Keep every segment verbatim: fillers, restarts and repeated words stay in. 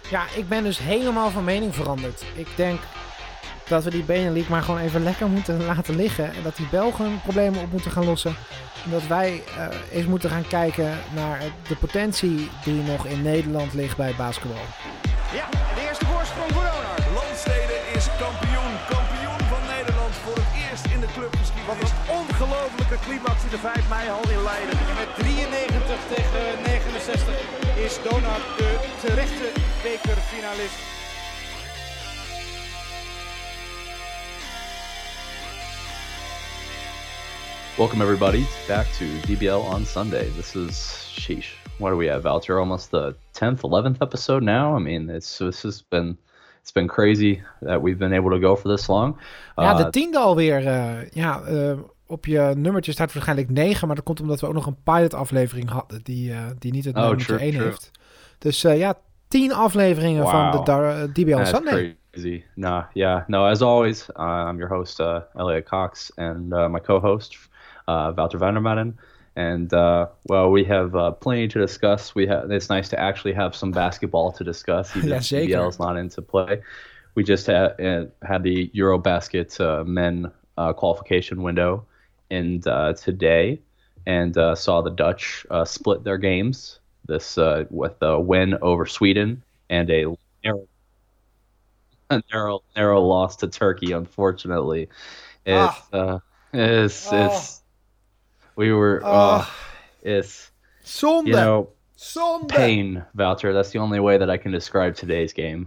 Ja, ik ben dus helemaal van mening veranderd. Ik denk dat we die Benelux maar gewoon even lekker moeten laten liggen. En dat die Belgen problemen op moeten gaan lossen. En dat wij uh, eens moeten gaan kijken naar de potentie die nog in Nederland ligt bij basketbal. Ja, de eerste voorsprong voor Donar. Landstede is kampioen. Kampioen van Nederland voor het eerst in de clubgeschiedenis. Wat een ongelofelijke climax in de vijf mei hal in Leiden. En met drieënnegentig tegen negenenzestig is Donar de terechte bekerfinalist. Welcome everybody back to D B L on Sunday. This is sheesh. What do we have, Valter? Almost the tenth, eleventh episode now. I mean, it's this has been it's been crazy that we've been able to go for this long. Ja, uh, de tiende alweer. Uh, ja, uh, op je nummertje staat waarschijnlijk negen, maar dat komt omdat we ook nog een pilot aflevering hadden die uh, die niet het oh, nummertje true, één true. heeft. Dus uh, ja, tien afleveringen wow. van de uh, D B L on That's Sunday. crazy. Nah, yeah, no. As always, uh, I'm your host, uh, Elliot Cox, and uh, my co-host, uh, Valter Vandermaden. And uh, well, we have uh, plenty to discuss. We have. It's nice to actually have some basketball to discuss. Even yeah, if D B L is not into play. We just had uh, had the Eurobasket uh, men uh, qualification window, and uh, today, and uh, saw the Dutch uh, split their games. This uh, with a win over Sweden and a narrow, a narrow, narrow loss to Turkey. Unfortunately, it's Ah. uh, it's Oh. it's we were Oh. uh, it's Zonde! you know Zonde! pain, Valter. That's the only way that I can describe today's game.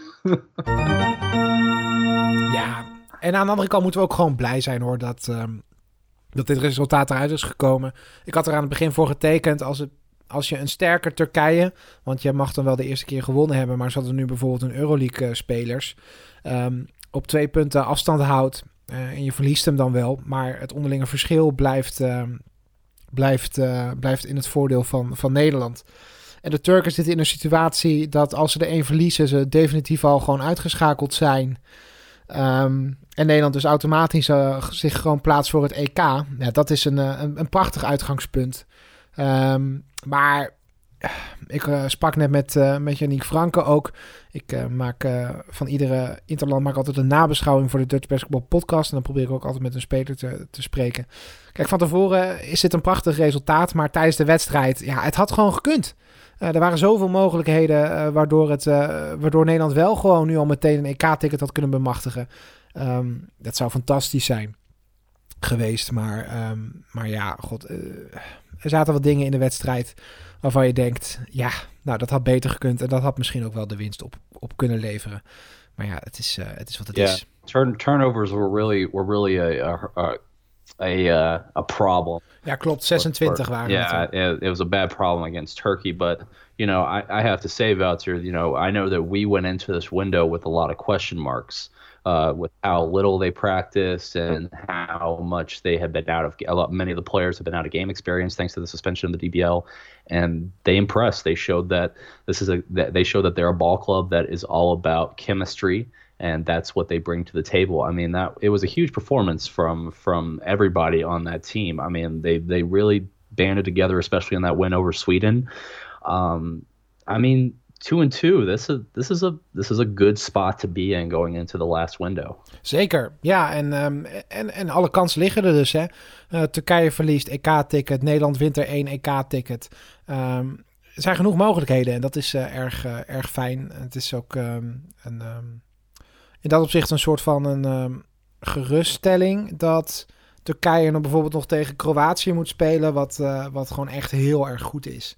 Ja, en aan de andere kant moeten we ook gewoon blij zijn hoor dat, um, dat dit resultaat eruit is gekomen. Ik had er aan het begin voor getekend als, het, als je een sterker Turkije, want je mag dan wel de eerste keer gewonnen hebben, maar ze hadden nu bijvoorbeeld een Euroleague uh, spelers, um, op twee punten afstand houdt uh, en je verliest hem dan wel, maar het onderlinge verschil blijft, uh, blijft, uh, blijft in het voordeel van, van Nederland. En de Turken zitten in een situatie dat als ze er één verliezen, ze definitief al gewoon uitgeschakeld zijn. Um, en Nederland dus automatisch uh, zich gewoon plaatst voor het E K. Ja, dat is een, een, een prachtig uitgangspunt. Um, maar ik uh, sprak net met, uh, met Yannick Franke ook. Ik uh, maak uh, van iedere interland maak altijd een nabeschouwing voor de Dutch Basketball Podcast. En dan probeer ik ook altijd met een speler te, te spreken. Kijk, van tevoren is dit een prachtig resultaat. Maar tijdens de wedstrijd, ja, het had gewoon gekund. Uh, er waren zoveel mogelijkheden uh, waardoor, het, uh, waardoor Nederland wel gewoon nu al meteen een E K-ticket had kunnen bemachtigen. Um, dat zou fantastisch zijn geweest. Maar, um, maar ja, god, uh, er zaten wat dingen in de wedstrijd waarvan je denkt, ja, nou dat had beter gekund. En dat had misschien ook wel de winst op, op kunnen leveren. Maar ja, het is, uh, het is wat het yeah, is. turn turnovers were really were really a a a, a, uh, a problem. Ja, klopt. zesentwintig For, waren yeah, het. it, it was a bad problem against Turkey. But, you know, I, I have to say, Valter, you know, I know that we went into this window with a lot of question marks uh, with how little they practiced and how much they had been out of a lot. Many of the players have been out of game experience thanks to the suspension of the D B L, and they impressed. They showed that this is a that they showed that they're a ball club that is all about chemistry. And that's what they bring to the table. I mean, that it was a huge performance from from everybody on that team. I mean, they they really banded together, especially in that win over Sweden. Um, I mean, two and two. This is this is a this is a good spot to be in going into the last window. Zeker, ja, en, um, en, en alle kansen liggen er dus. Hè. Uh, Turkije verliest E K-ticket, Nederland wint er één E K-ticket. Um, er zijn genoeg mogelijkheden en dat is uh, erg, uh, erg fijn. Het is ook um, een, um, in dat opzicht een soort van een um, geruststelling dat Turkije nog bijvoorbeeld nog tegen Kroatië moet spelen, wat, uh, wat gewoon echt heel erg goed is.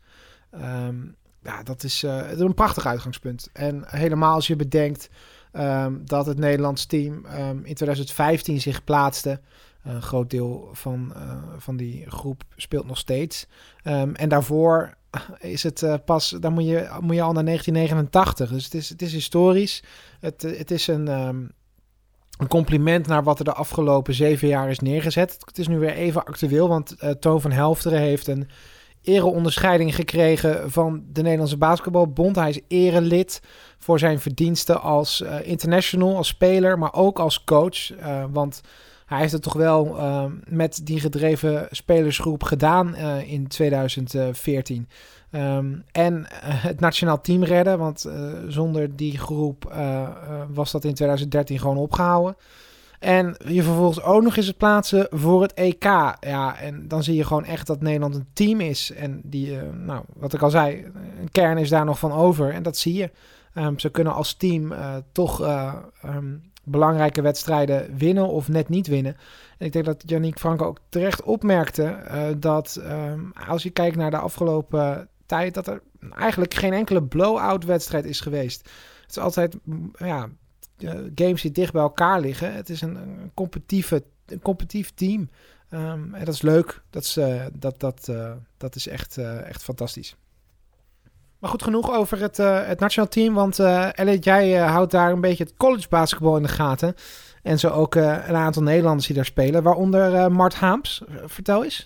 Um, ja, dat is uh, een prachtig uitgangspunt. En helemaal als je bedenkt um, dat het Nederlands team um, in twintig vijftien zich plaatste. Een groot deel van, uh, van die groep speelt nog steeds. Um, en daarvoor is het uh, pas, dan moet je, moet je al naar negentien negenentachtig. Dus het is, het is historisch. Het, het is een, um, een compliment naar wat er de afgelopen zeven jaar is neergezet. Het is nu weer even actueel, want uh, Toon van Helfteren heeft een ereonderscheiding gekregen van de Nederlandse Basketbalbond. Hij is erelid voor zijn verdiensten als uh, international, als speler, maar ook als coach. Uh, want hij heeft het toch wel uh, met die gedreven spelersgroep gedaan uh, in tweeduizend veertien. Um, en uh, het nationaal team redden, want uh, zonder die groep uh, uh, was dat in tweeduizend dertien gewoon opgehouden. En je vervolgens ook nog eens het plaatsen voor het E K. Ja, en dan zie je gewoon echt dat Nederland een team is. En die, uh, nou, wat ik al zei, een kern is daar nog van over. En dat zie je. Um, ze kunnen als team uh, toch uh, um, belangrijke wedstrijden winnen of net niet winnen. En ik denk dat Yannick Franke ook terecht opmerkte uh, dat um, als je kijkt naar de afgelopen tijd, dat er eigenlijk geen enkele blow-out wedstrijd is geweest. Het is altijd, ja, uh, games die dicht bij elkaar liggen. Het is een, een, competitieve, een competitief team. Um, en dat is leuk. Dat is, uh, dat, dat, uh, dat is echt, uh, echt fantastisch. Maar goed, genoeg over het, uh, het nationaal team. Want uh, Elliot, jij uh, houdt daar een beetje het college basketbal in de gaten. En zo ook uh, een aantal Nederlanders die daar spelen. Waaronder uh, Mart Haams. Vertel eens.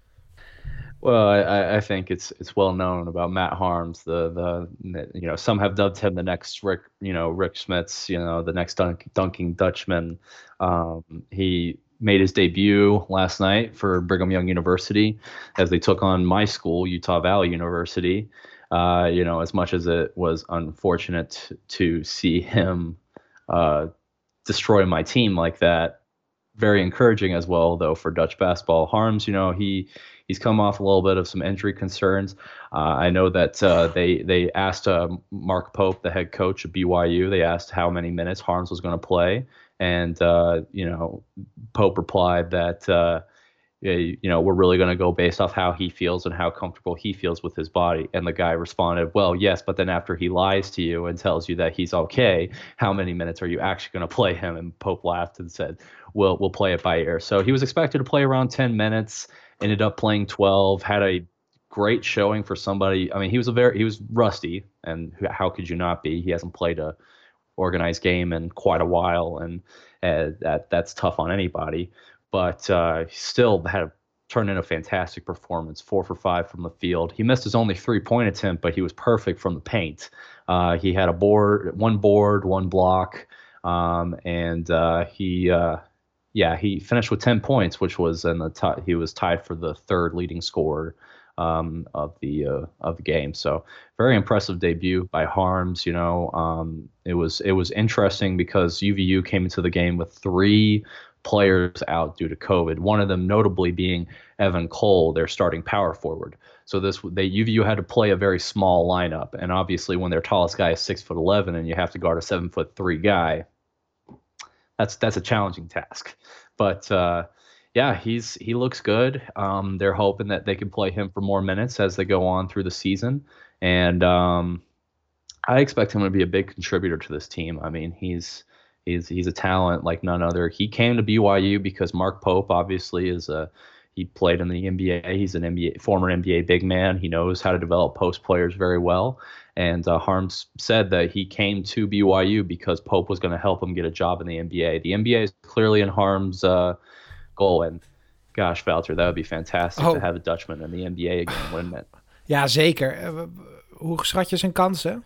Well, I, I think it's it's well known about Matt Harms. The the you know, some have dubbed him the next Rick you know Rick Smits. You know, the next dunk, dunking Dutchman. Um, he made his debut last night for Brigham Young University as they took on my school, Utah Valley University. Uh, you know, as much as it was unfortunate to see him uh, destroy my team like that, very encouraging as well, though, for Dutch basketball. Harms, you know, he he's come off a little bit of some injury concerns. Uh, I know that uh, they they asked uh, Mark Pope, the head coach of B Y U, they asked how many minutes Harms was going to play, and uh, you know, Pope replied that. Uh, You know, we're really going to go based off how he feels and how comfortable he feels with his body. And the guy responded, well, yes, but then after he lies to you and tells you that he's okay, how many minutes are you actually going to play him? And Pope laughed and said, we'll, we'll play it by ear. So he was expected to play around ten minutes, ended up playing twelve, had a great showing for somebody. I mean, he was a very, he was rusty, and how could you not be? He hasn't played a organized game in quite a while, and uh, that that's tough on anybody. But uh, he still had a, turned in a fantastic performance, four for five from the field. He missed his only three-point attempt, but he was perfect from the paint. Uh, he had a board, one board, one block, um, and uh, he, uh, yeah, he finished with ten points, which was in the t- he was tied for the third leading scorer um, of the uh, of the game. So very impressive debut by Harms. You know, um, it was it was interesting because U V U came into the game with three players out due to COVID, one of them notably being Evan Cole, their starting power forward. So this they U V U had to play a very small lineup, and obviously when their tallest guy is six foot eleven and you have to guard a seven foot three guy, that's that's a challenging task. But uh, yeah, he's he looks good. Um, they're hoping that they can play him for more minutes as they go on through the season, and um, I expect him to be a big contributor to this team. I mean, he's He's he's a talent like none other. He came to B Y U because Mark Pope obviously is a he played in the N B A. He's an N B A former N B A big man. He knows how to develop post players very well. And uh, Harms said that he came to B Y U because Pope was going to help him get a job in the N B A. The N B A is clearly in Harms' uh, goal. And gosh, Valter, that would be fantastic oh. to have a Dutchman in the N B A again, wouldn't it? Ja, zeker. Uh, hoe schat je zijn kansen?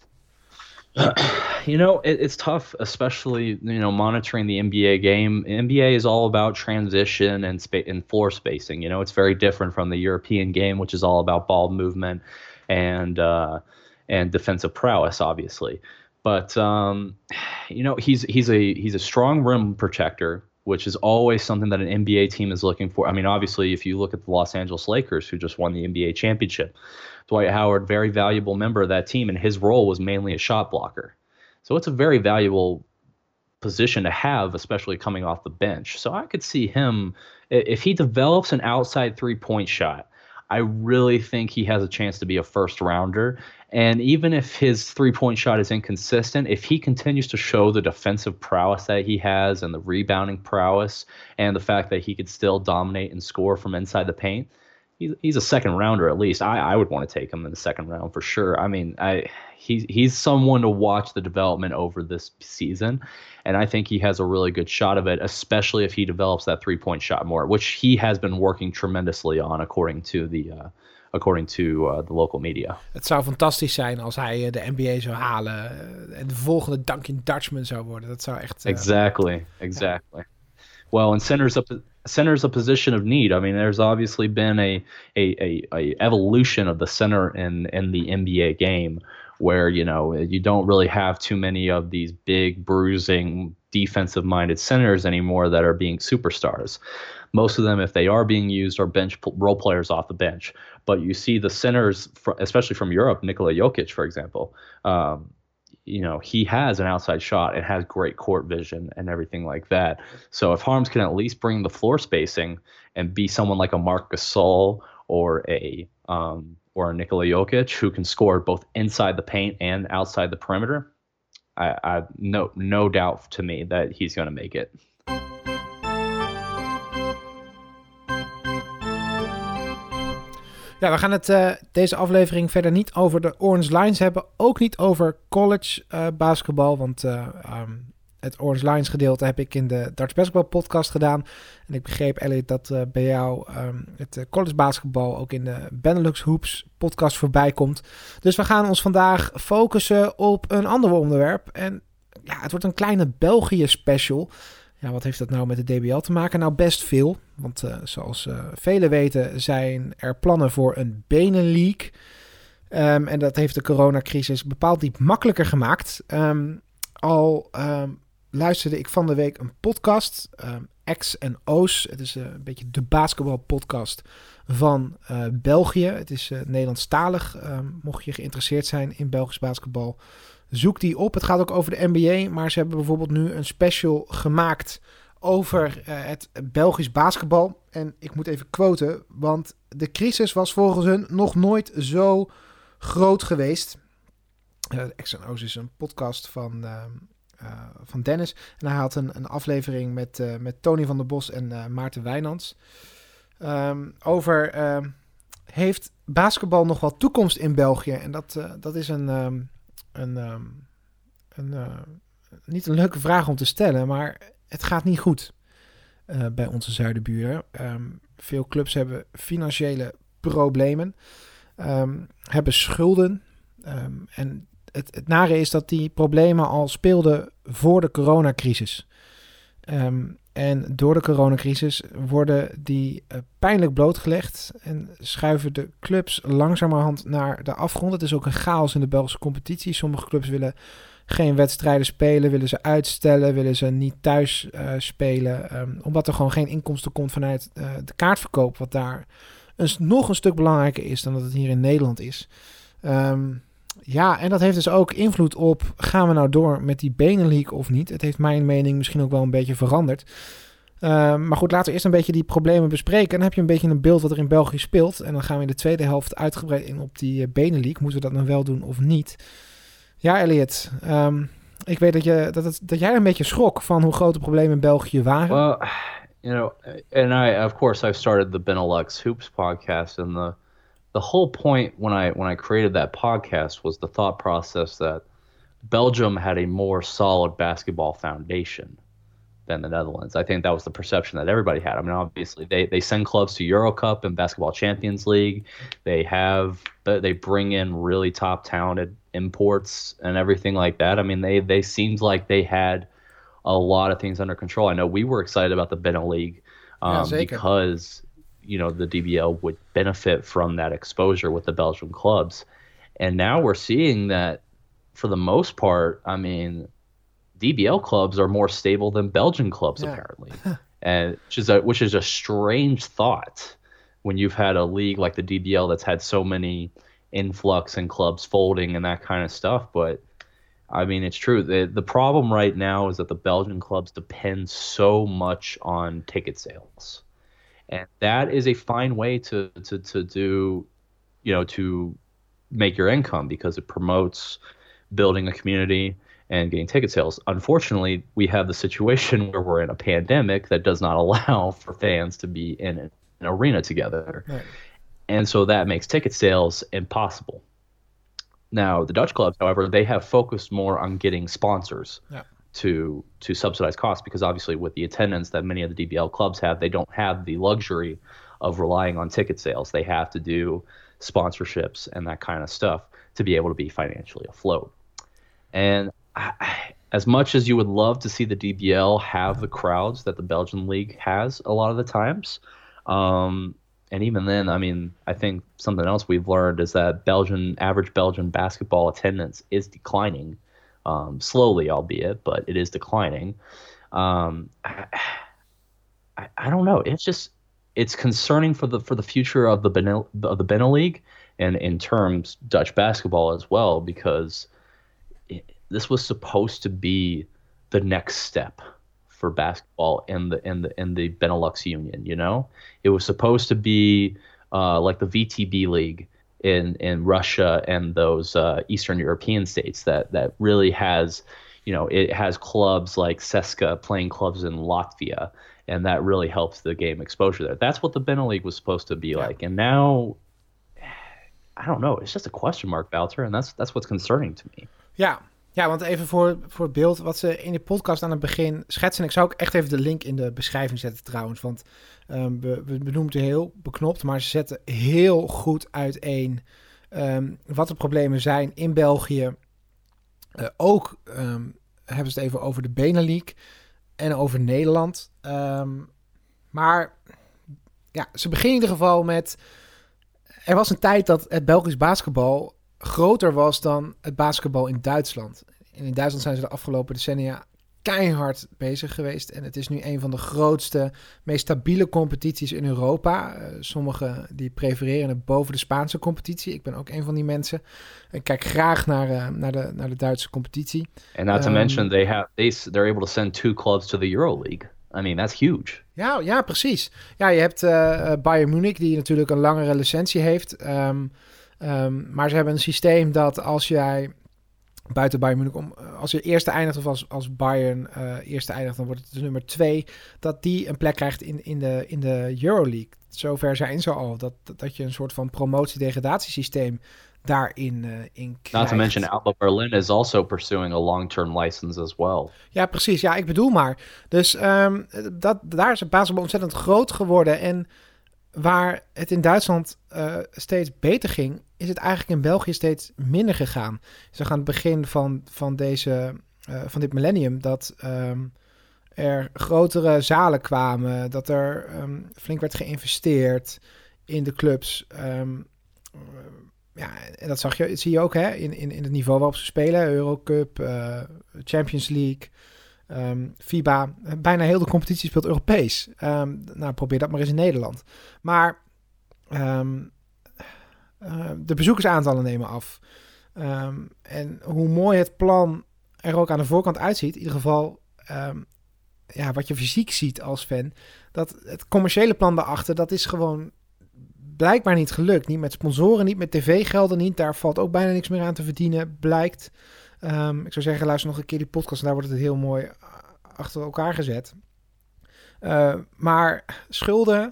You know, it, it's tough, especially, you know, monitoring the N B A game. N B A is all about transition and spa- and floor spacing. You know, it's very different from the European game, which is all about ball movement and uh, and defensive prowess, obviously. But um, you know, he's he's a he's a strong rim protector, which is always something that an N B A team is looking for. I mean, obviously, if you look at the Los Angeles Lakers, who just won the N B A championship, Dwight Howard, very valuable member of that team, and his role was mainly a shot blocker. So it's a very valuable position to have, especially coming off the bench. So I could see him, if he develops an outside three-point shot, I really think he has a chance to be a first rounder. And even if his three-point shot is inconsistent, if he continues to show the defensive prowess that he has and the rebounding prowess and the fact that he could still dominate and score from inside the paint, he's a second rounder at least. I, I would want to take him in the second round for sure. I mean, I he he's someone to watch the development over this season, and I think he has a really good shot of it, especially if he develops that three-point shot more, which he has been working tremendously on, according to the uh, according to uh, the local media. Het zou fantastisch zijn als hij de N B A zou halen en de volgende Duncan Dutchman zou worden. Dat zou echt... Uh, exactly, exactly. Ja. Well, and center's a center's a position of need. I mean, there's obviously been a a, a, a evolution of the center in in the N B A game, where you know you don't really have too many of these big bruising defensive-minded centers anymore that are being superstars. Most of them, if they are being used, are bench role players off the bench. But you see the centers, especially from Europe, Nikola Jokic, for example. Um, you know, he has an outside shot and has great court vision and everything like that. So if Harms can at least bring the floor spacing and be someone like a Marc Gasol or a um, or a Nikola Jokic who can score both inside the paint and outside the perimeter, I, I no no doubt to me that he's going to make it. Ja, we gaan het uh, deze aflevering verder niet over de Orange Lions hebben. Ook niet over college uh, basketbal. Want uh, um, het Orange Lions gedeelte heb ik in de Darts Basketball podcast gedaan. En ik begreep, Elliot, dat uh, bij jou um, het uh, college basketbal ook in de Benelux Hoops podcast voorbij komt. Dus we gaan ons vandaag focussen op een ander onderwerp. En ja, het wordt een kleine België special. Ja, wat heeft dat nou met de D B L te maken? Nou, best veel. Want uh, zoals uh, velen weten zijn er plannen voor een Benelink. Um, en dat heeft de coronacrisis bepaald niet makkelijker gemaakt. Um, al um, luisterde ik van de week een podcast, um, X en O's. Het is uh, een beetje de basketbalpodcast van uh, België. Het is uh, Nederlandstalig. Um, mocht je geïnteresseerd zijn in Belgisch basketbal, zoek die op. Het gaat ook over de N B A, maar ze hebben bijvoorbeeld nu een special gemaakt over uh, het Belgisch basketbal. En ik moet even quoten, want de crisis was volgens hun nog nooit zo groot geweest. Uh, X en O's is een podcast van, uh, uh, van Dennis. En hij had een, een aflevering met, uh, met Tony van der Bos en uh, Maarten Wijnands. Um, over uh, heeft basketbal nog wel toekomst in België? En dat, uh, dat is een... Um, Een, um, een, uh, niet een leuke vraag om te stellen, maar het gaat niet goed uh, bij onze zuidenburen. Um, veel clubs hebben financiële problemen, um, hebben schulden. Um, en het, het nare is dat die problemen al speelden voor de coronacrisis. Um, en door de coronacrisis worden die uh, pijnlijk blootgelegd en schuiven de clubs langzamerhand naar de afgrond. Het is ook een chaos in de Belgische competitie. Sommige clubs willen geen wedstrijden spelen, willen ze uitstellen, willen ze niet thuis uh, spelen. Um, omdat er gewoon geen inkomsten komt vanuit uh, de kaartverkoop, wat daar een, nog een stuk belangrijker is dan dat het hier in Nederland is. Um, Ja, en dat heeft dus ook invloed op, gaan we nou door met die Benelink of niet? Het heeft mijn mening misschien ook wel een beetje veranderd. Uh, maar goed, laten we eerst een beetje die problemen bespreken. En dan heb je een beetje een beeld wat er in België speelt. En dan gaan we in de tweede helft uitgebreid in op die uh, Benelink. Moeten we dat nou wel doen of niet? Ja, Elliot, um, ik weet dat, je, dat, het, dat jij een beetje schrok van hoe groot de problemen in België waren. Well, you know, and I, of course, I've started the Benelux Hoops podcast and the... The whole point when I when I created that podcast was the thought process that Belgium had a more solid basketball foundation than the Netherlands. I think that was the perception that everybody had. I mean, obviously they, they send clubs to Eurocup and Basketball Champions League. They have they bring in really top talented imports and everything like that. I mean, they they seemed like they had a lot of things under control. I know we were excited about the Benelink um, yeah, because. You know, the D B L would benefit from that exposure with the Belgian clubs. And now we're seeing that for the most part, I mean, D B L clubs are more stable than Belgian clubs, yeah. apparently. and which is, a, which is a strange thought when you've had a league like the D B L that's had so many influx and clubs folding and that kind of stuff. But, I mean, it's true. The, the problem right now is that the Belgian clubs depend so much on ticket sales. And that is a fine way to, to, to do, you know, to make your income because it promotes building a community and getting ticket sales. Unfortunately, we have the situation where we're in a pandemic that does not allow for fans to be in an arena together. Right. And so that makes ticket sales impossible. Now, the Dutch clubs, however, they have focused more on getting sponsors. Yeah. to to subsidize costs because obviously with the attendance that many of the D B L clubs have, they don't have the luxury of relying on ticket sales. They have to do sponsorships and that kind of stuff to be able to be financially afloat. And I, as much as you would love to see the D B L have the crowds that the Belgian league has a lot of the times, um, and even then, I mean, I think something else we've learned is that Belgian average Belgian basketball attendance is declining, um, slowly, albeit, but it is declining. Um, I, I, I don't know. It's just it's concerning for the for the future of the Benel, of the Benel League, and in terms Dutch basketball as well, because it, this was supposed to be the next step for basketball in the in the in the Benelux Union. You know, it was supposed to be uh, like the V T B League in in Russia and those uh, Eastern European states that that really has, you know, it has clubs like CSKA playing clubs in Latvia, and that really helps the game exposure there. That's what the Benel League was supposed to be yeah. like, and now I don't know. It's just a question mark, Wouter, en that's that's what's concerning to me. Ja, ja, want even voor, voor het beeld, wat ze in de podcast aan het begin schetsen. Ik zou ook echt even de link in de beschrijving zetten trouwens, want um, we, we benoemen het heel beknopt, maar ze zetten heel goed uiteen um, wat de problemen zijn in België. Uh, ook um, hebben ze het even over de Benelux en over Nederland. Um, maar ja, ze beginnen in ieder geval met... Er was een tijd dat het Belgisch basketbal groter was dan het basketbal in Duitsland. En in Duitsland zijn ze de afgelopen decennia keihard bezig geweest. En het is nu een van de grootste, meest stabiele competities in Europa. Uh, sommigen die prefereren het boven de Spaanse competitie. Ik ben ook een van die mensen. Ik kijk graag naar, uh, naar, de, naar de Duitse competitie. And not to um, mention, they have, they, they're able to send two clubs to the EuroLeague. I mean, that's huge. Ja, ja, precies. Ja, je hebt uh, Bayern Munich, die natuurlijk een langere licentie heeft. Um, um, maar ze hebben een systeem dat als jij buiten Bayern Munich, om, als je eerste eindigt of als, als Bayern uh, eerste eindigt, dan wordt het dus nummer twee, dat die een plek krijgt in, in, de, in de EuroLeague. Zover zijn ze al, dat, dat je een soort van promotie-degradatiesysteem daarin uh, in krijgt. Not to mention Alba Berlin is also pursuing a long-term license as well. Ja, precies. Ja, ik bedoel maar. Dus um, dat, daar is het basketbal ontzettend groot geworden. En waar het in Duitsland uh, steeds beter ging, is het eigenlijk in België steeds minder gegaan. Dus aan het begin van, van, deze, uh, van dit millennium dat um, er grotere zalen kwamen, dat er um, flink werd geïnvesteerd in de clubs. Um, uh, Ja, en dat zag je, zie je ook hè, in, in, in het niveau waarop ze spelen. Eurocup, uh, Champions League, um, FIBA. Bijna heel de competitie speelt Europees. Um, nou, probeer dat maar eens in Nederland. Maar um, uh, de bezoekersaantallen nemen af. Um, en hoe mooi het plan er ook aan de voorkant uitziet. In ieder geval, um, ja, wat je fysiek ziet als fan. Dat het commerciële plan daarachter, dat is gewoon blijkbaar niet gelukt. Niet met sponsoren, niet met tv-gelden, niet. Daar valt ook bijna niks meer aan te verdienen, blijkt. Um, ik zou zeggen, luister nog een keer die podcast en daar wordt het heel mooi achter elkaar gezet. Uh, maar schulden,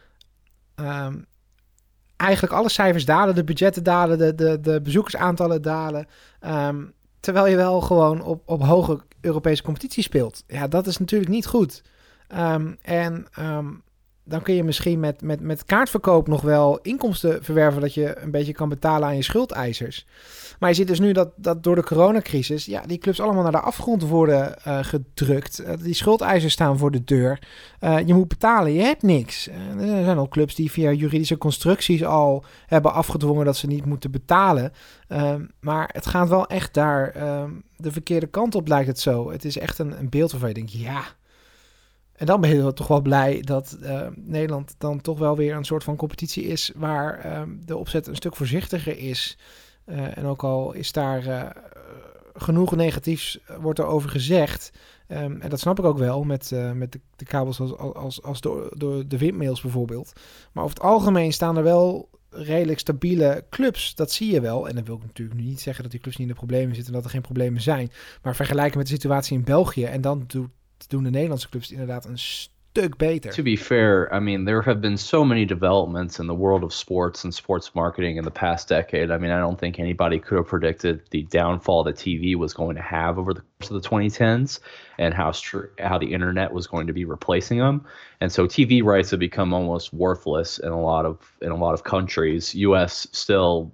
um, eigenlijk alle cijfers dalen, de budgetten dalen, de, de, de bezoekersaantallen dalen. Um, terwijl je wel gewoon op, op hoge Europese competitie speelt. Ja, dat is natuurlijk niet goed. Um, en... Um, dan kun je misschien met, met, met kaartverkoop nog wel inkomsten verwerven dat je een beetje kan betalen aan je schuldeisers. Maar je ziet dus nu dat, dat door de coronacrisis, ja, die clubs allemaal naar de afgrond worden uh, gedrukt. Uh, die schuldeisers staan voor de deur. Uh, je moet betalen, je hebt niks. Uh, er zijn al clubs die via juridische constructies al hebben afgedwongen dat ze niet moeten betalen. Uh, maar het gaat wel echt daar uh, de verkeerde kant op, lijkt het zo. Het is echt een, een beeld waarvan je denkt, ja. En dan ben je toch wel blij dat uh, Nederland dan toch wel weer een soort van competitie is waar uh, de opzet een stuk voorzichtiger is. Uh, en ook al is daar uh, genoeg negatiefs wordt er over gezegd. Um, en dat snap ik ook wel met, uh, met de, de kabels als, als, als de, de, de windmails bijvoorbeeld. Maar over het algemeen staan er wel redelijk stabiele clubs. Dat zie je wel. En dan wil ik natuurlijk nu niet zeggen dat die clubs niet in de problemen zitten en dat er geen problemen zijn. Maar vergelijken met de situatie in België en dan doet doen de Nederlandse clubs inderdaad een stuk beter. To be fair, I mean, there have been so many developments in the world of sports and sports marketing in the past decade. I mean, I don't think anybody could have predicted the downfall that T V was going to have over the course of the twenty tens and how str- how the internet was going to be replacing them. And so T V rights have become almost worthless in a lot of in a lot of countries. U S still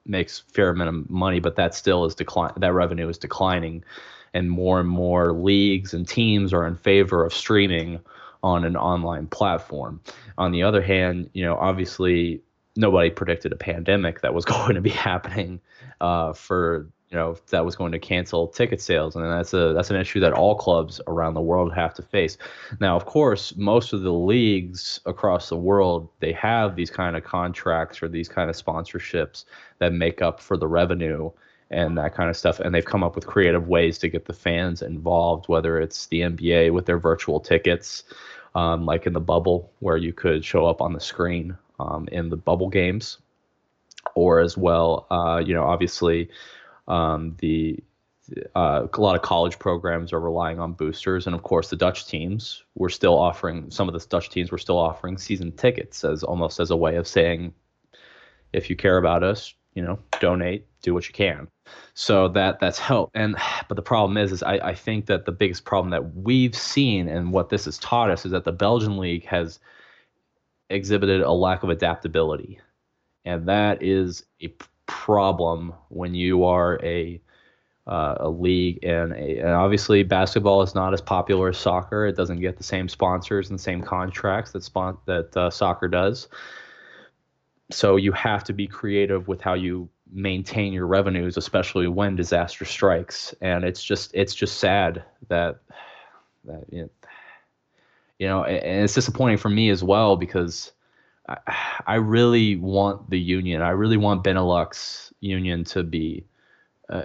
makes fair amount of money, but that still is decline. That revenue is declining, and more and more leagues and teams are in favor of streaming on an online platform. On the other hand, you know, obviously nobody predicted a pandemic that was going to be happening uh, for, you know, that was going to cancel ticket sales. And that's a that's an issue that all clubs around the world have to face. Now, of course, most of the leagues across the world, they have these kind of contracts or these kind of sponsorships that make up for the revenue and that kind of stuff. And they've come up with creative ways to get the fans involved, whether it's the N B A with their virtual tickets, um, like in the bubble where you could show up on the screen um, in the bubble games, or as well, uh, you know, obviously um, the uh, a lot of college programs are relying on boosters. And of course, the Dutch teams were still offering, some of the Dutch teams were still offering season tickets as almost as a way of saying, if you care about us, you know, donate, do what you can. So that that's helped. And but the problem is, is I, I think that the biggest problem that we've seen and what this has taught us is that the Belgian league has exhibited a lack of adaptability. And that is a problem when you are a uh, a league and, a, and obviously basketball is not as popular as soccer. It doesn't get the same sponsors and same contracts that spon- that uh, soccer does. So you have to be creative with how you maintain your revenues, especially when disaster strikes. And it's just it's just sad that that you know, you know and it's disappointing for me as well, because I, I really want the union. I really want Benelux Union to be uh,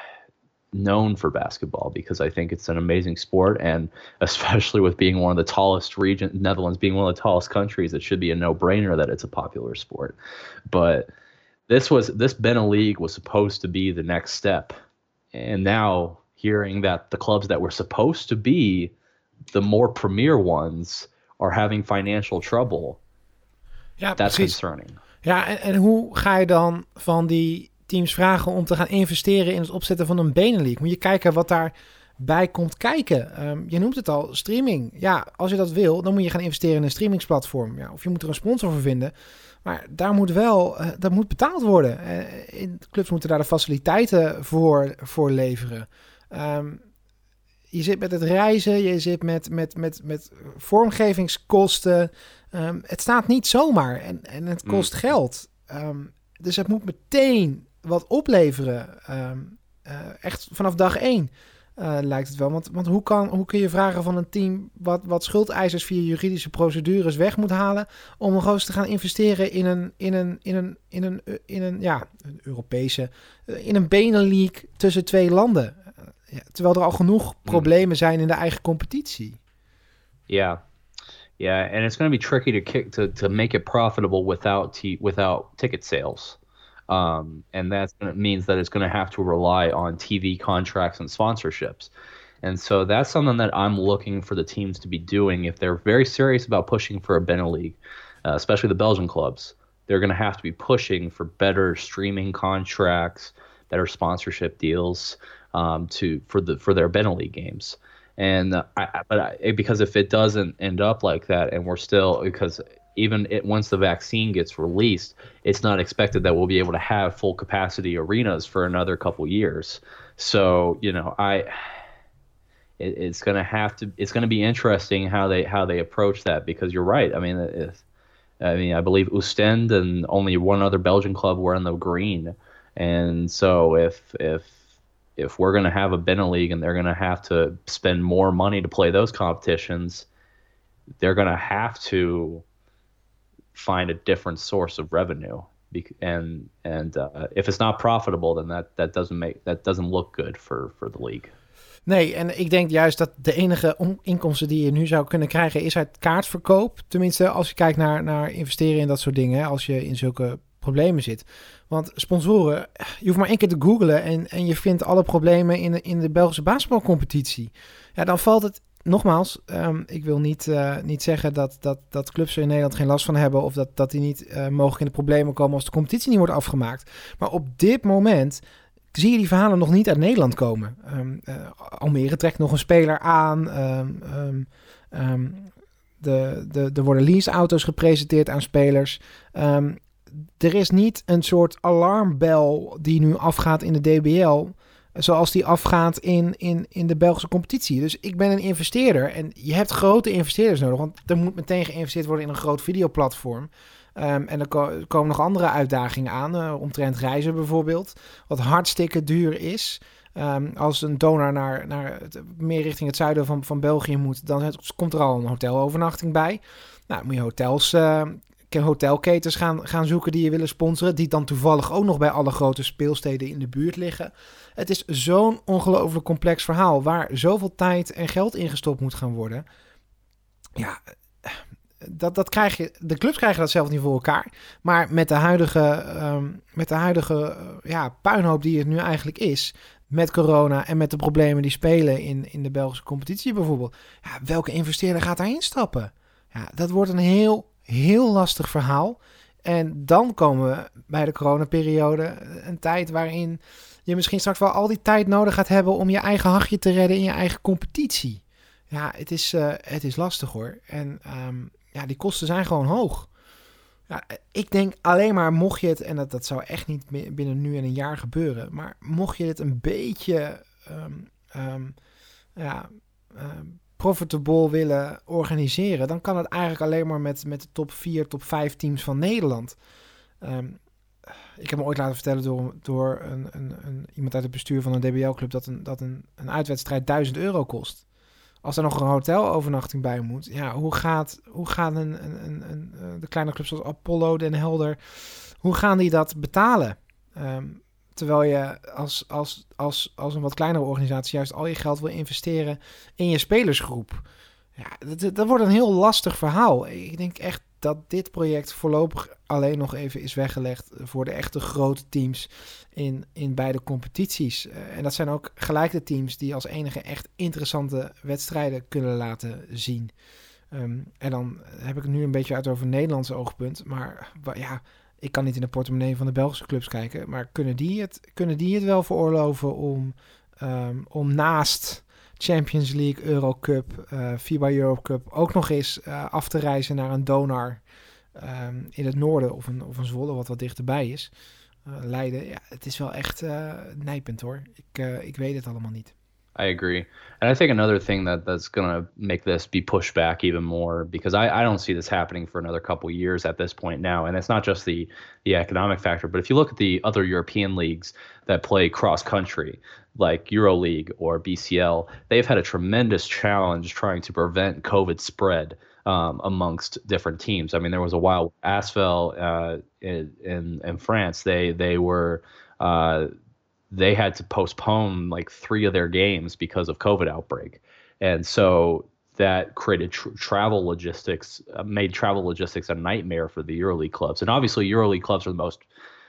known for basketball, because I think it's an amazing sport, and especially with being one of the tallest region, Netherlands being one of the tallest countries, it should be a no-brainer that it's a popular sport. But this was this Benelux League was supposed to be the next step, and now hearing that the clubs that were supposed to be the more premier ones are having financial trouble, ja, that's precies. concerning. Ja, en, en hoe ga je dan van die teams vragen om te gaan investeren in het opzetten van een Benelux? Moet je kijken wat daarbij komt kijken. Um, je noemt het al, streaming. Ja, als je dat wil, dan moet je gaan investeren in een streamingsplatform. Ja, of je moet er een sponsor voor vinden. Maar daar moet wel, uh, dat moet betaald worden. Uh, in, clubs moeten daar de faciliteiten voor, voor leveren. Um, je zit met het reizen, je zit met, met, met, met vormgevingskosten. Um, het staat niet zomaar en, en het kost mm. geld. Um, dus het moet meteen wat opleveren. Um, uh, echt vanaf dag één uh, lijkt het wel. Want, want hoe, kan, hoe kun je vragen van een team wat, wat schuldeisers via juridische procedures weg moet halen, om nog eens te gaan investeren in een, in een, in een, in een, in een, ja, een Europese, in een Benelux tussen twee landen. Uh, ja, terwijl er al genoeg problemen zijn in de eigen competitie. Ja. Yeah, and it's going to be tricky to kick to, to make it profitable without t- without ticket sales, um, and that means that it's going to have to rely on T V contracts and sponsorships, and so that's something that I'm looking for the teams to be doing if they're very serious about pushing for a Benelux, uh, especially the Belgian clubs. They're going to have to be pushing for better streaming contracts, better sponsorship deals, um, to for the for their Benelux games. And uh, I, but I, because if it doesn't end up like that, and we're still, because even it, once the vaccine gets released, it's not expected that we'll be able to have full capacity arenas for another couple years. So you know, I it, it's gonna have to, it's gonna be interesting how they how they approach that, because you're right. I mean, it, I mean, I believe Oostende and only one other Belgian club were in the green, and so if if if we're going to have a Benelux and they're going to have to spend more money to play those competitions, they're going to have to find a different source of revenue. And and uh, if it's not profitable, then that, that doesn't make that doesn't look good for, for the league. Nee, en ik denk juist dat de enige on- inkomsten die je nu zou kunnen krijgen is uit kaartverkoop. Tenminste, als je kijkt naar, naar investeren in dat soort dingen, hè, als je in zulke problemen zit. Want sponsoren, je hoeft maar één keer te googlen en, en je vindt alle problemen in de, in de Belgische basketbalcompetitie. Ja, dan valt het, nogmaals, um, ik wil niet, uh, niet zeggen dat, dat, dat clubs er in Nederland geen last van hebben of dat, dat die niet uh, mogelijk in de problemen komen als de competitie niet wordt afgemaakt. Maar op dit moment zie je die verhalen nog niet uit Nederland komen. Um, uh, Almere trekt nog een speler aan. Um, um, um, de, de, er worden leaseauto's gepresenteerd aan spelers. Um, er is niet een soort alarmbel die nu afgaat in de D B L, zoals die afgaat in, in, in de Belgische competitie. Dus ik ben een investeerder en je hebt grote investeerders nodig, want er moet meteen geïnvesteerd worden in een groot videoplatform. Um, en er, ko- er komen nog andere uitdagingen aan, uh, omtrent reizen bijvoorbeeld, wat hartstikke duur is. Um, als een donor naar, naar het, meer richting het zuiden van, van België moet, dan het, komt er al een hotelovernachting bij. Nou, moet je hotels, uh, hotelketens gaan, gaan zoeken die je willen sponsoren, die dan toevallig ook nog bij alle grote speelsteden in de buurt liggen. Het is zo'n ongelooflijk complex verhaal, waar zoveel tijd en geld in gestopt moet gaan worden. Ja, dat, dat krijg je, de clubs krijgen dat zelf niet voor elkaar. Maar met de huidige, um, met de huidige uh, ja, puinhoop die het nu eigenlijk is, met corona en met de problemen die spelen in, in de Belgische competitie bijvoorbeeld. Ja, welke investeerder gaat daarin stappen? Ja, dat wordt een heel, heel lastig verhaal. En dan komen we bij de coronaperiode, een tijd waarin je misschien straks wel al die tijd nodig gaat hebben om je eigen hachje te redden in je eigen competitie. Ja, het is, uh, het is lastig hoor. En um, ja, die kosten zijn gewoon hoog. Ja, ik denk alleen maar, mocht je het, en dat, dat zou echt niet binnen nu en een jaar gebeuren, maar mocht je het een beetje um, um, ja, um, profitable willen organiseren, dan kan het eigenlijk alleen maar met, met de top vier, top vijf teams van Nederland. Um, ik heb me ooit laten vertellen door, door een, een, een, iemand uit het bestuur van een D B L-club dat, een, dat een, een uitwedstrijd duizend euro kost. Als er nog een hotelovernachting bij moet, ja, hoe gaat, hoe gaan een, een, een, een, de kleine clubs zoals Apollo, Den Helder, hoe gaan die dat betalen? Um, terwijl je als, als, als, als een wat kleinere organisatie juist al je geld wil investeren in je spelersgroep. Ja, dat, dat wordt een heel lastig verhaal. Ik denk echt dat dit project voorlopig alleen nog even is weggelegd voor de echte grote teams in, in beide competities. Uh, en dat zijn ook gelijk de teams die als enige echt interessante wedstrijden kunnen laten zien. Um, en dan heb ik het nu een beetje uit over een Nederlands oogpunt. Maar ja, ik kan niet in de portemonnee van de Belgische clubs kijken. Maar kunnen die het, kunnen die het wel veroorloven om, um, om naast Champions League, Eurocup, uh, FIBA Europe Cup ook nog eens uh, af te reizen naar een Donar um, in het noorden of een, of een Zwolle wat wat dichterbij is. Uh, Leiden, ja, het is wel echt uh, nijpend hoor. Ik, uh, ik weet het allemaal niet. I agree. And I think another thing that, that's going to make this be pushed back even more, because I, I don't see this happening for another couple years at this point now. And it's not just the, the economic factor, but if you look at the other European leagues that play cross-country, like EuroLeague or B C L, they've had a tremendous challenge trying to prevent COVID spread um, amongst different teams. I mean, there was a while Asvel uh, in, in in France, they they were uh, they had to postpone like three of their games because of COVID outbreak, and so that created tr- travel logistics, uh, made travel logistics a nightmare for the EuroLeague clubs. And obviously, EuroLeague clubs are the most,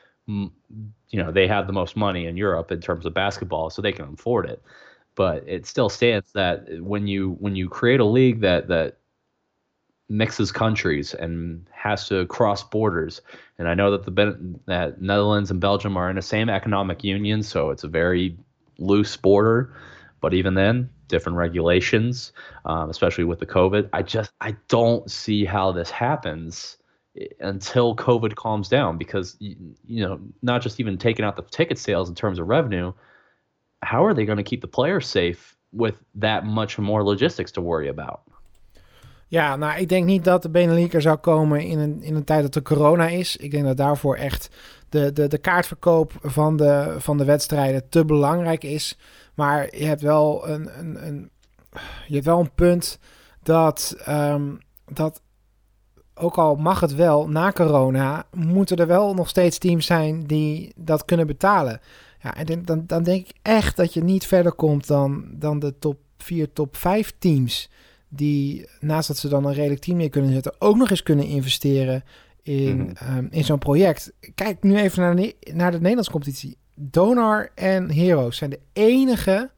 you know, they have the most money in Europe in terms of basketball, so they can afford it. But it still stands that when you when you create a league that that mixes countries and has to cross borders, and I know that the that Netherlands and Belgium are in the same economic union, so it's a very loose border. But even then, different regulations, um, especially with the COVID. I just I don't see how this happens until COVID calms down, because you, you know, not just even taking out the ticket sales in terms of revenue, how are they going to keep the players safe with that much more logistics to worry about? Ja, nou, ik denk niet dat de Benelux er zou komen in een, in een tijd dat er corona is. Ik denk dat daarvoor echt de, de, de kaartverkoop van de, van de wedstrijden te belangrijk is. Maar je hebt wel een, een, een, je hebt wel een punt dat, um, dat, ook al mag het wel, na corona moeten er wel nog steeds teams zijn die dat kunnen betalen. Ja, en dan, dan denk ik echt dat je niet verder komt dan, dan de top vier, top vijf teams, die naast dat ze dan een redelijk team neer kunnen zetten, ook nog eens kunnen investeren in, mm-hmm. um, in zo'n project. Kijk nu even naar de, naar de Nederlandse competitie. Donar en Heroes zijn de enige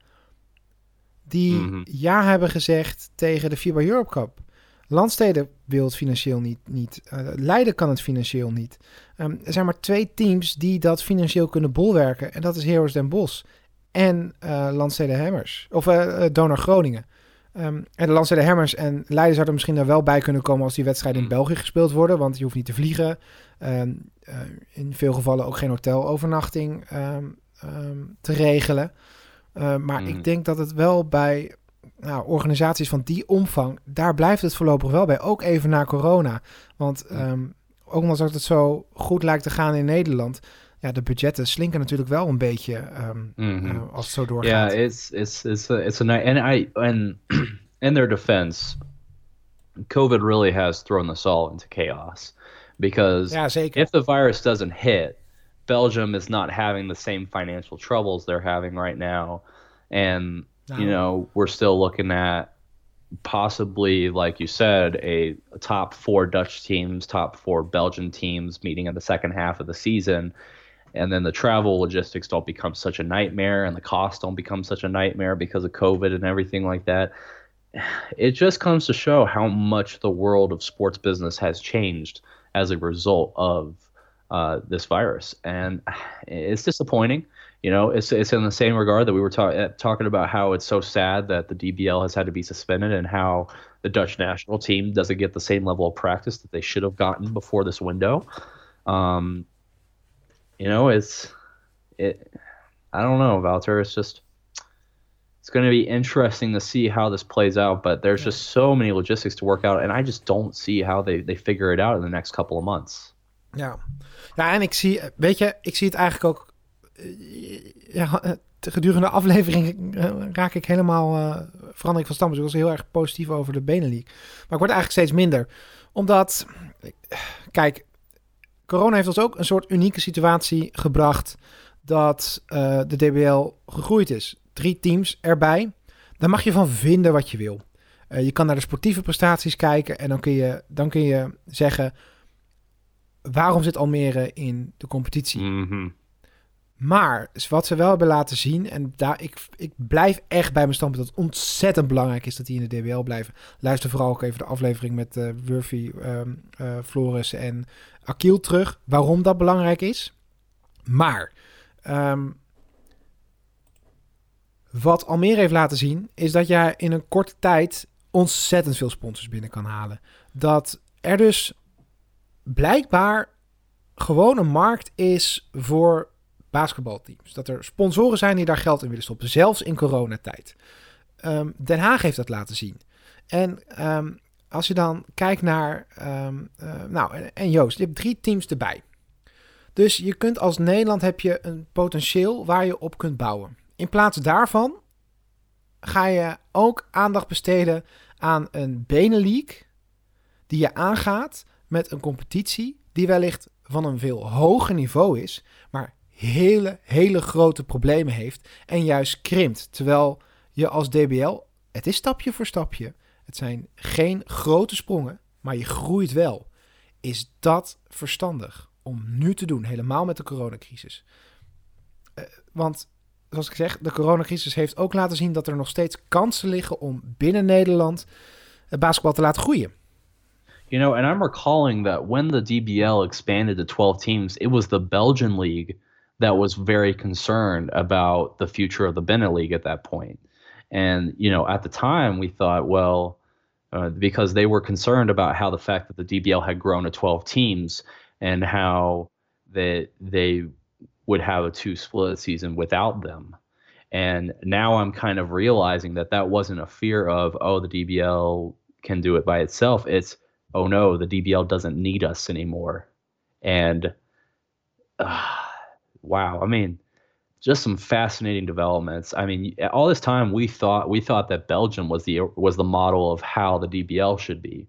die mm-hmm. ja hebben gezegd tegen de FIBA Europe Cup. Landsteden wil het financieel niet. niet. Uh, Leiden kan het financieel niet. Um, er zijn maar twee teams die dat financieel kunnen bolwerken. En dat is Heroes Den Bosch en uh, Landsteden Hammers. Of uh, uh, Donar Groningen. Um, en de Lance de Hammers en Leiden zouden misschien daar wel bij kunnen komen als die wedstrijden in België gespeeld worden. Want je hoeft niet te vliegen. Um, uh, in veel gevallen ook geen hotelovernachting um, um, te regelen. Uh, maar mm. ik denk dat het wel bij nou, organisaties van die omvang, daar blijft het voorlopig wel bij. Ook even na corona. Want um, ook omdat het zo goed lijkt te gaan in Nederland, ja, de budgetten slinken natuurlijk wel een beetje um, mm-hmm. uh, als het zo doorgaat. Yeah, it's it's it's a, it's a nice and I and in their defense, COVID really has thrown us all into chaos because ja, zeker. If the virus doesn't hit, Belgium is not having the same financial troubles they're having right now, and no. you know we're still looking at possibly, like you said, a, a top four Dutch teams, top four Belgian teams meeting in the second half of the season. And then the travel logistics don't become such a nightmare and the costs don't become such a nightmare because of COVID and everything like that. It just comes to show how much the world of sports business has changed as a result of uh, this virus. And it's disappointing. You know, it's it's in the same regard that we were ta- talking about how it's so sad that the D B L has had to be suspended and how the Dutch national team doesn't get the same level of practice that they should have gotten before this window. Um, you know, it's it. I don't know, Wouter. It's just it's going to be interesting to see how this plays out. But there's just so many logistics to work out, and I just don't see how they they figure it out in the next couple of months. Ja, ja, en ik zie, weet je, ik zie het eigenlijk ook. Ja, gedurende de aflevering raak ik helemaal uh, verander ik van stam. Dus ik was heel erg positief over de Benelux. Maar ik word eigenlijk steeds minder. Omdat, kijk, corona heeft ons ook een soort unieke situatie gebracht dat uh, de D B L gegroeid is. Drie teams erbij. Daar mag je van vinden wat je wil. Uh, je kan naar de sportieve prestaties kijken en dan kun je, dan kun je zeggen, waarom zit Almere in de competitie? Mm-hmm. Maar wat ze wel hebben laten zien, en daar, ik, ik blijf echt bij mijn standpunt dat het ontzettend belangrijk is dat die in de D B L blijven. Luister vooral ook even de aflevering met uh, Wurfy, um, uh, Floris en Akil terug, waarom dat belangrijk is. Maar um, wat Almere heeft laten zien, is dat jij in een korte tijd ontzettend veel sponsors binnen kan halen. Dat er dus blijkbaar gewoon een markt is voor basketbalteams. Dat er sponsoren zijn die daar geld in willen stoppen. Zelfs in coronatijd. Um, Den Haag heeft dat laten zien. En um, als je dan kijkt naar... Um, uh, nou, en, en Joost, je hebt drie teams erbij. Dus je kunt als Nederland heb je een potentieel waar je op kunt bouwen. In plaats daarvan ga je ook aandacht besteden aan een Benelux die je aangaat met een competitie die wellicht van een veel hoger niveau is, maar hele, hele grote problemen heeft en juist krimpt. Terwijl je als D B L, het is stapje voor stapje, het zijn geen grote sprongen, maar je groeit wel. Is dat verstandig om nu te doen, helemaal met de coronacrisis? Uh, want, zoals ik zeg, de coronacrisis heeft ook laten zien dat er nog steeds kansen liggen om binnen Nederland het basketbal te laten groeien. You know, and I'm recalling that when the D B L expanded to twelve teams, it was the Belgian league that was very concerned about the future of the Benelux at that point. And, you know, at the time we thought, well, uh, because they were concerned about how the fact that the D B L had grown to twelve teams and how that they would have a two split season without them. And now I'm kind of realizing that that wasn't a fear of, oh, the D B L can do it by itself. It's, oh no, the D B L doesn't need us anymore. And uh, wow, I mean, just some fascinating developments. I mean, all this time we thought we thought that Belgium was the was the model of how the D B L should be,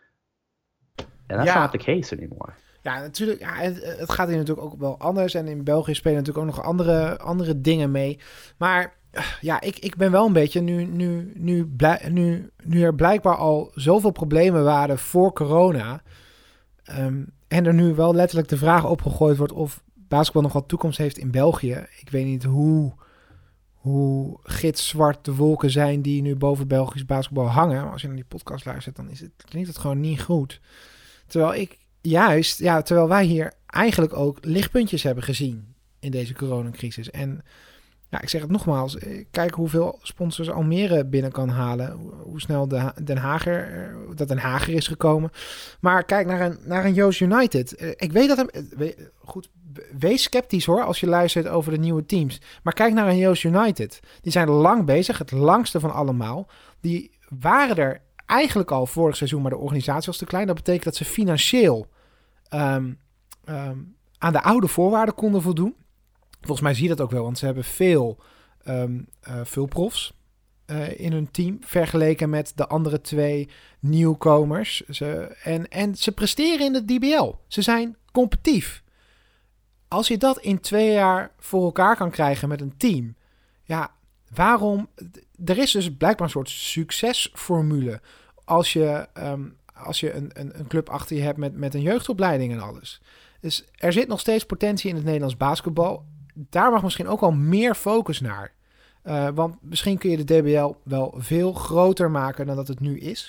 and that's ja. not the case anymore. Ja, natuurlijk. Ja, het, het gaat hier natuurlijk ook wel anders. En in België spelen natuurlijk ook nog andere, andere dingen mee. Maar ja, ik, ik ben wel een beetje... Nu, nu, nu, blij, nu, nu er blijkbaar al zoveel problemen waren voor corona... Um, en er nu wel letterlijk de vraag opgegooid wordt... of basketbal nog wat toekomst heeft in België. Ik weet niet hoe, hoe gitzwart de wolken zijn... die nu boven Belgisch basketbal hangen. Maar als je naar die podcast luistert... dan is het, klinkt het gewoon niet goed. Terwijl ik... Juist, ja, terwijl wij hier eigenlijk ook lichtpuntjes hebben gezien in deze coronacrisis. En Ja, ik zeg het nogmaals. Kijk hoeveel sponsors Almere binnen kan halen. Hoe, hoe snel de, Den Hager, dat Den Hager is gekomen. Maar kijk naar een, naar een Joost United. Ik weet dat hem... Goed, wees sceptisch hoor, als je luistert over de nieuwe teams. Maar kijk naar een Joost United. Die zijn lang bezig, het langste van allemaal. Die waren er eigenlijk al vorig seizoen, maar de organisatie was te klein. Dat betekent dat ze financieel um, um, aan de oude voorwaarden konden voldoen. Volgens mij zie je dat ook wel, want ze hebben veel, um, uh, veel profs uh, in hun team vergeleken met de andere twee nieuwkomers. Ze, en, en ze presteren in de D B L. Ze zijn competitief. Als je dat in twee jaar voor elkaar kan krijgen met een team, ja, waarom? Er is dus blijkbaar een soort succesformule als je, um, als je een, een, een club achter je hebt met, met een jeugdopleiding en alles. Dus er zit nog steeds potentie in het Nederlands basketbal. Daar mag misschien ook al meer focus naar. Uh, want misschien kun je de D B L wel veel groter maken dan dat het nu is.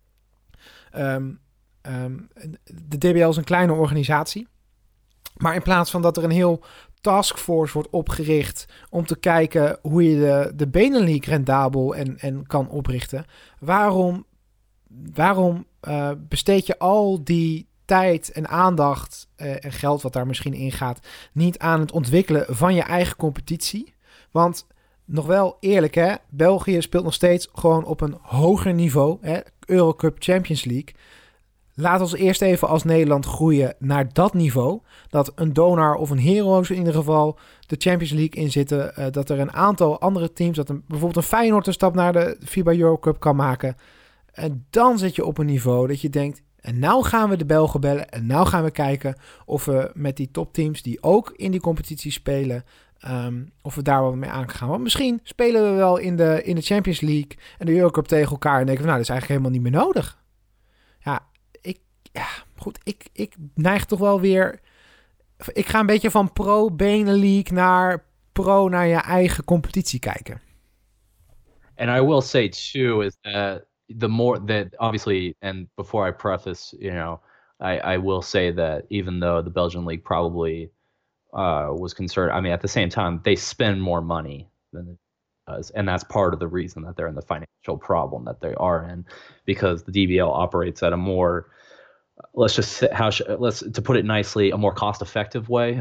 Um, um, de D B L is een kleine organisatie. Maar in plaats van dat er een heel taskforce wordt opgericht om te kijken hoe je de, de Benelink rendabel en, en kan oprichten. Waarom, waarom uh, besteed je al die tijd en aandacht uh, en geld wat daar misschien in gaat niet aan het ontwikkelen van je eigen competitie? Want nog wel eerlijk hè, België speelt nog steeds gewoon op een hoger niveau. Hè, Eurocup Champions League. Laat ons eerst even als Nederland groeien naar dat niveau. Dat een Donar of een Heroes in ieder geval de Champions League in zitten. Uh, dat er een aantal andere teams, dat een, bijvoorbeeld een Feyenoord een stap naar de FIBA Eurocup kan maken. En dan zit je op een niveau dat je denkt, en nou gaan we de Belgen bellen. En nou gaan we kijken of we met die topteams die ook in die competitie spelen, Um, of we daar wel mee aan gaan. Want misschien spelen we wel in de, in de Champions League en de Eurocup tegen elkaar en denken we, nou, dat is eigenlijk helemaal niet meer nodig. Ja, ik, ja, goed, ik, ik neig toch wel weer, ik ga een beetje van pro-Benelink naar pro naar je eigen competitie kijken. And I will say too is that the more that obviously, and before I preface, you know, I, I will say that even though the Belgian league probably Uh, was concerned. I mean, at the same time, they spend more money than it does, and that's part of the reason that they're in the financial problem that they are in, because the D B L operates at a more, let's just say, how should, let's to put it nicely, a more cost-effective way,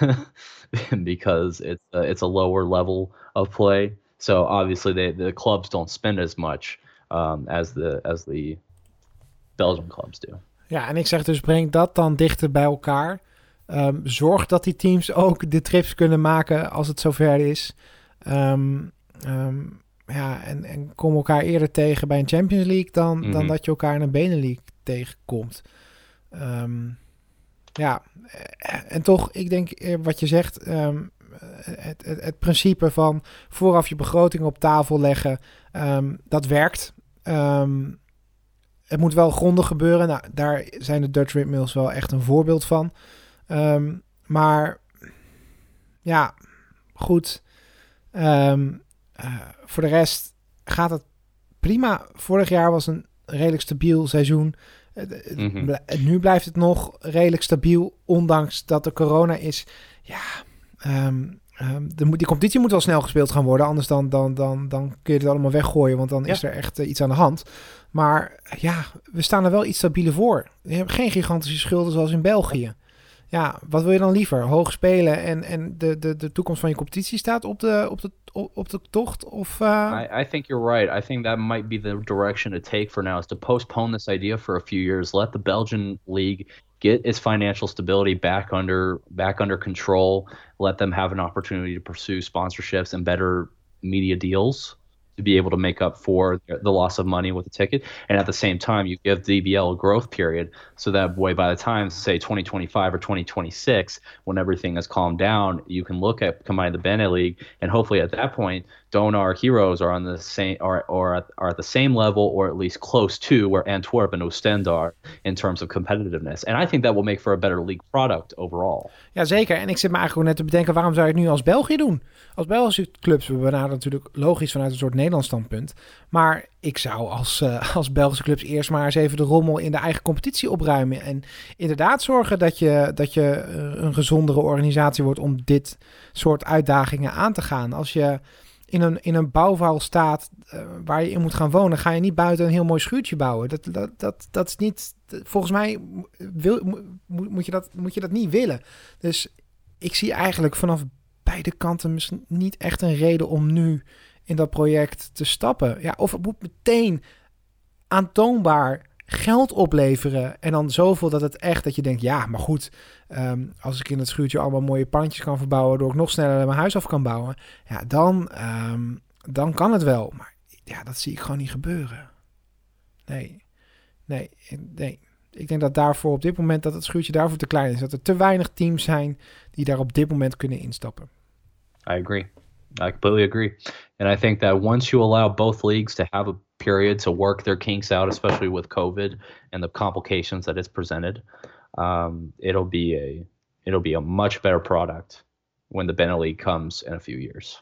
because it's a, it's a lower level of play. So obviously, they, the clubs don't spend as much um, as the as the Belgian clubs do. Ja, en ik zeg dus, breng dat dan dichter bij elkaar. Um, zorg dat die teams ook de trips kunnen maken als het zover is. Um, um, ja, en, en kom elkaar eerder tegen bij een Champions League dan, mm-hmm. dan dat je elkaar in een Benelink tegenkomt. Um, ja, en toch, ik denk wat je zegt, um, het, het, het principe van vooraf je begroting op tafel leggen, um, dat werkt. Um, het moet wel grondig gebeuren. Nou, daar zijn de Dutch Windmills wel echt een voorbeeld van. Um, maar ja, goed. Um, uh, voor de rest gaat het prima. Vorig jaar was een redelijk stabiel seizoen. Uh, mm-hmm. bl- nu blijft het nog redelijk stabiel, ondanks dat er corona is. Ja, um, um, de, die competitie moet wel snel gespeeld gaan worden. Anders dan, dan, dan, dan kun je het allemaal weggooien, want dan ja. is er echt uh, iets aan de hand. Maar ja, we staan er wel iets stabieler voor. Je hebt geen gigantische schulden zoals in België. Ja, wat wil je dan liever? Hoog spelen en, en de, de, de toekomst van je competitie staat op de, op de, op de tocht? Of, uh... I, I think you're right. I think that might be the direction to take for now, is to postpone this idea for a few years. Let the Belgian league get its financial stability back under back under control. Let them have an opportunity to pursue sponsorships and better media deals to be able to make up for the loss of money with the ticket. And at the same time, you give D B L a growth period, so that way by the time, say, twenty twenty-five or twenty twenty-six, when everything has calmed down, you can look at combining the Bene League, and hopefully at that point, Donar Heroes are on the same or or at, are at the same level or at least close to where Antwerp and Oostende are in terms of competitiveness. And I think that will make for a better league product overall. Ja, zeker. En ik zit me eigenlijk net te bedenken, waarom zou je het nu als België doen? Als Belgische clubs, we benaderen natuurlijk logisch vanuit een soort Nederlands standpunt. Maar ik zou als, uh, als Belgische clubs eerst maar eens even de rommel in de eigen competitie opruimen. En inderdaad zorgen dat je, dat je uh, een gezondere organisatie wordt om dit soort uitdagingen aan te gaan. Als je in een, in een bouwval staat uh, waar je in moet gaan wonen, ga je niet buiten een heel mooi schuurtje bouwen. Dat, dat, dat, dat is niet, volgens mij wil, moet, moet, je dat, moet je dat niet willen. Dus ik zie eigenlijk vanaf beide kanten misschien niet echt een reden om nu in dat project te stappen. Ja, of het moet meteen aantoonbaar geld opleveren en dan zoveel dat het echt, dat je denkt, ja, maar goed, um, als ik in het schuurtje allemaal mooie pandjes kan verbouwen, door ik nog sneller mijn huis af kan bouwen, ja, dan, um, dan kan het wel. Maar ja, dat zie ik gewoon niet gebeuren. Nee, nee, nee. Ik denk dat daarvoor op dit moment, dat het schuurtje daarvoor te klein is. Dat er te weinig teams zijn die daar op dit moment kunnen instappen. I agree. I completely agree. And I think that once you allow both leagues to have a period to work their kinks out, especially with COVID and the complications that it's presented, um, it'll be a it'll be a much better product when the Benelux comes in a few years.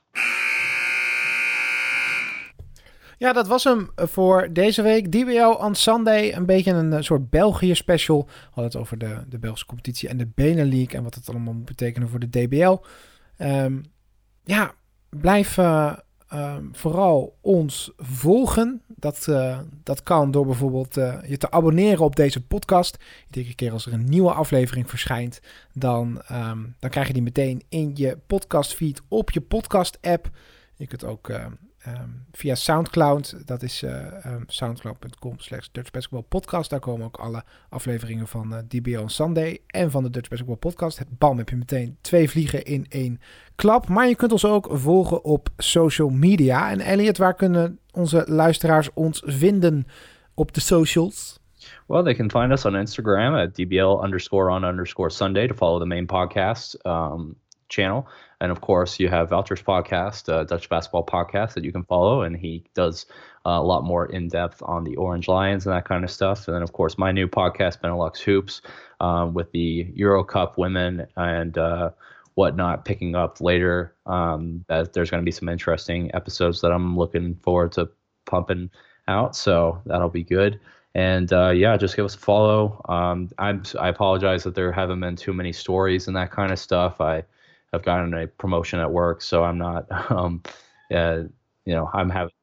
Ja, dat was hem voor deze week. D B L on Sunday. Een beetje een soort België special. We hadden het over de, de Belgische competitie en de Benelux en wat het allemaal moet betekenen voor de D B L. Um, ja, blijf uh, uh, vooral ons volgen. Dat, uh, dat kan door bijvoorbeeld uh, je te abonneren op deze podcast. Iedere keer als er een nieuwe aflevering verschijnt, dan, um, dan krijg je die meteen in je podcastfeed op je podcast app. Je kunt ook uh, um, via Soundcloud, dat is uh, um, soundcloud punt com slash Dutch Basketball Podcast. Daar komen ook alle afleveringen van uh, D B L on Sunday en van de Dutch Basketball Podcast. Het bam, heb je meteen twee vliegen in één klap. Maar je kunt ons ook volgen op social media. En Elliot, waar kunnen onze luisteraars ons vinden op de socials? Well, they can find us on Instagram at D B L underscore on underscore Sunday to follow the main podcast um, channel. And of course, you have Valter's podcast, uh, Dutch Basketball Podcast, that you can follow. And he does uh, a lot more in depth on the Orange Lions and that kind of stuff. And then, of course, my new podcast, Benelux Hoops, um, with the Euro Cup women and uh, whatnot picking up later. Um, that there's going to be some interesting episodes that I'm looking forward to pumping out. So that'll be good. And uh, yeah, just give us a follow. Um, I'm, I apologize that there haven't been too many stories and that kind of stuff. I I've gotten a promotion at work, so I'm not, um, uh, you know, I'm having,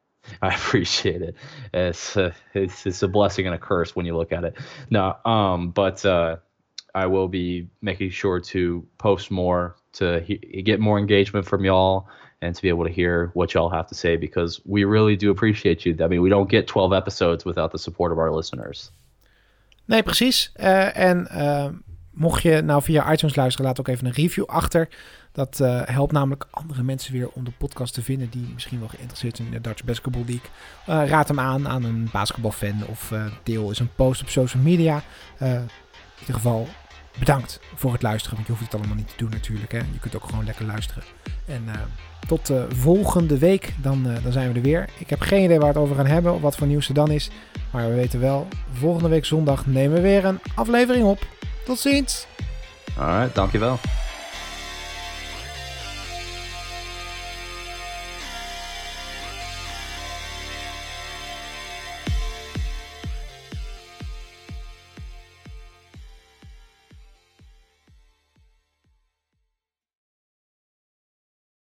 I appreciate it. It's, uh, it's, it's a blessing and a curse when you look at it. No, um, but uh, I will be making sure to post more to he- get more engagement from y'all and to be able to hear what y'all have to say, because we really do appreciate you. I mean, we don't get twelve episodes without the support of our listeners. Nee, precies. Uh, en uh, mocht je nou via iTunes luisteren, laat ook even een review achter. Dat uh, helpt namelijk andere mensen weer om de podcast te vinden die misschien wel geïnteresseerd zijn in de Dutch Basketball League. Uh, raad hem aan aan een basketbalfan of uh, deel eens een post op social media. Uh, in ieder geval bedankt voor het luisteren, want je hoeft het allemaal niet te doen natuurlijk. Hè? Je kunt ook gewoon lekker luisteren. En uh, tot uh, volgende week, dan, uh, dan zijn we er weer. Ik heb geen idee waar we het over gaan hebben of wat voor nieuws er dan is. Maar we weten wel, volgende week zondag nemen we weer een aflevering op. Tot ziens! Alright, dankjewel.